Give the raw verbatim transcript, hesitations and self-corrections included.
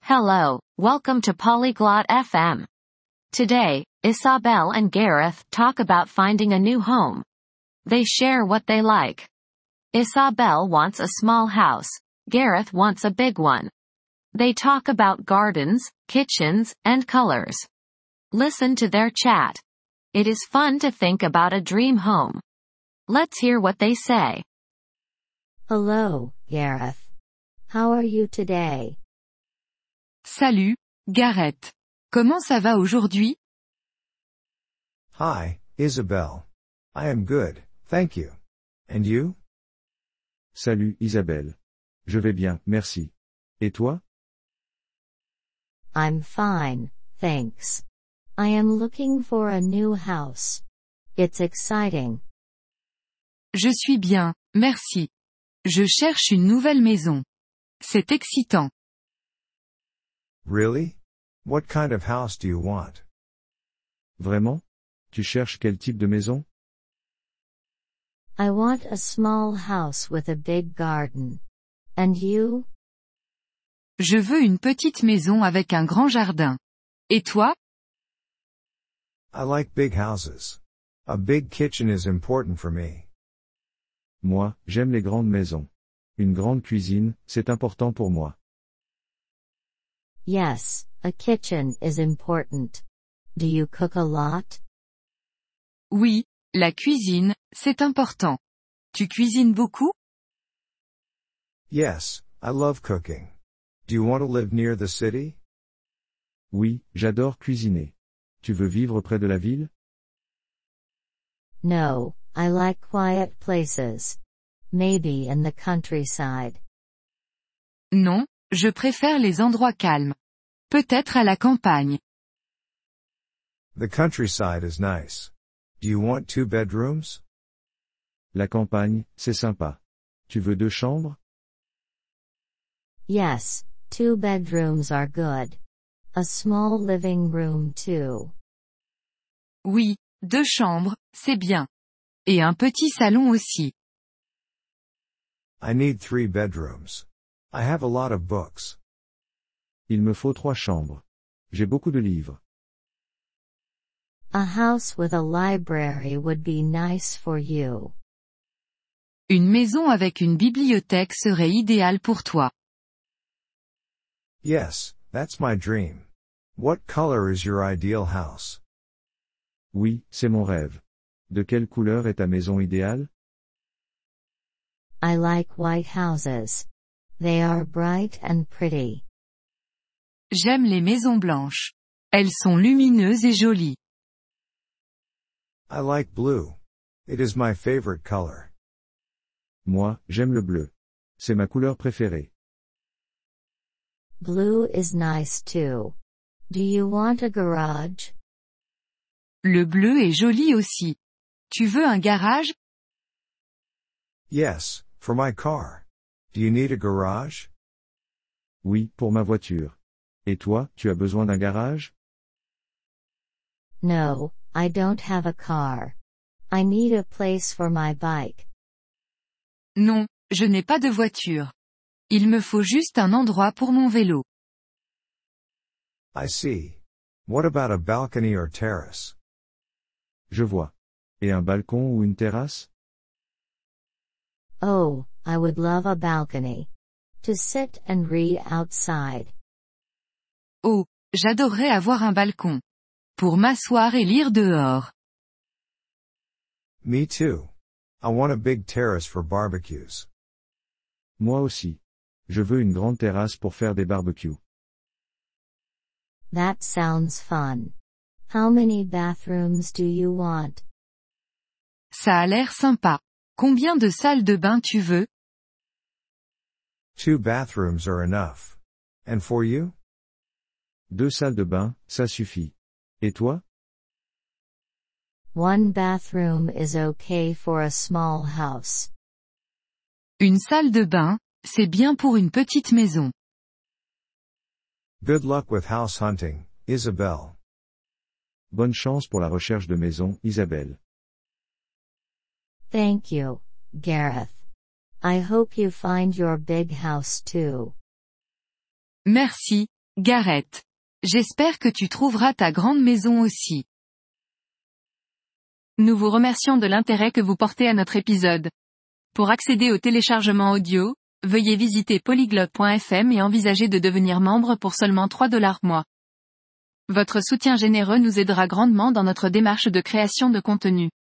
Hello, welcome to Polyglot F M. Today, Isabel and Gareth talk about finding a new home. They share what they like. Isabel wants a small house. Gareth wants a big one. They talk about gardens, kitchens, and colors. Listen to their chat. It is fun to think about a dream home. Let's hear what they say. Hello, Gareth. How are you today? Salut, Gareth. Comment ça va aujourd'hui? Hi, Isabel. I am good, thank you. And you? Salut Isabelle. Je vais bien, merci. Et toi? I'm fine, thanks. I am looking for a new house. It's exciting. Je suis bien, merci. Je cherche une nouvelle maison. C'est excitant. Really? What kind of house do you want? Vraiment? Tu cherches quel type de maison? I want a small house with a big garden. And you? Je veux une petite maison avec un grand jardin. Et toi? I like big houses. A big kitchen is important for me. Moi, j'aime les grandes maisons. Une grande cuisine, c'est important pour moi. Yes, a kitchen is important. Do you cook a lot? Oui, la cuisine, c'est important. Tu cuisines beaucoup? Yes, I love cooking. Do you want to live near the city? Oui, j'adore cuisiner. Tu veux vivre près de la ville? No, I like quiet places. Maybe in the countryside. Non, je préfère les endroits calmes. Peut-être à la campagne. The countryside is nice. Do you want two bedrooms? La campagne, c'est sympa. Tu veux deux chambres? Yes, two bedrooms are good. A small living room too. Oui, deux chambres, c'est bien. Et un petit salon aussi. I need three bedrooms. I have a lot of books. Il me faut trois chambres. J'ai beaucoup de livres. A house with a library would be nice for you. Une maison avec une bibliothèque serait idéale pour toi. Yes, that's my dream. What color is your ideal house? Oui, c'est mon rêve. De quelle couleur est ta maison idéale? I like white houses. They are bright and pretty. J'aime les maisons blanches. Elles sont lumineuses et jolies. I like blue. It is my favorite color. Moi, j'aime le bleu. C'est ma couleur préférée. Blue is nice too. Do you want a garage? Le bleu est joli aussi. Tu veux un garage? Yes, for my car. Do you need a garage? Oui, pour ma voiture. Et toi, tu as besoin d'un garage? No, I don't have a car. I need a place for my bike. Non, je n'ai pas de voiture. Il me faut juste un endroit pour mon vélo. I see. What about a balcony or terrace? Je vois. Et un balcon ou une terrasse? Oh, I would love a balcony. To sit and read outside. Oh, j'adorerais avoir un balcon. Pour m'asseoir et lire dehors. Me too. I want a big terrace for barbecues. Moi aussi. Je veux une grande terrasse pour faire des barbecues. That sounds fun. How many bathrooms do you want? Ça a l'air sympa. Combien de salles de bain tu veux? Two bathrooms are enough. And for you? Deux salles de bain, ça suffit. Et toi? One bathroom is okay for a small house. Une salle de bain, c'est bien pour une petite maison. Good luck with house hunting, Isabel. Bonne chance pour la recherche de maison, Isabelle. Thank you, Gareth. I hope you find your big house too. Merci, Gareth. J'espère que tu trouveras ta grande maison aussi. Nous vous remercions de l'intérêt que vous portez à notre épisode. Pour accéder au téléchargement audio, veuillez visiter polyglotte point f m et envisager de devenir membre pour seulement trois dollars mois. Votre soutien généreux nous aidera grandement dans notre démarche de création de contenu.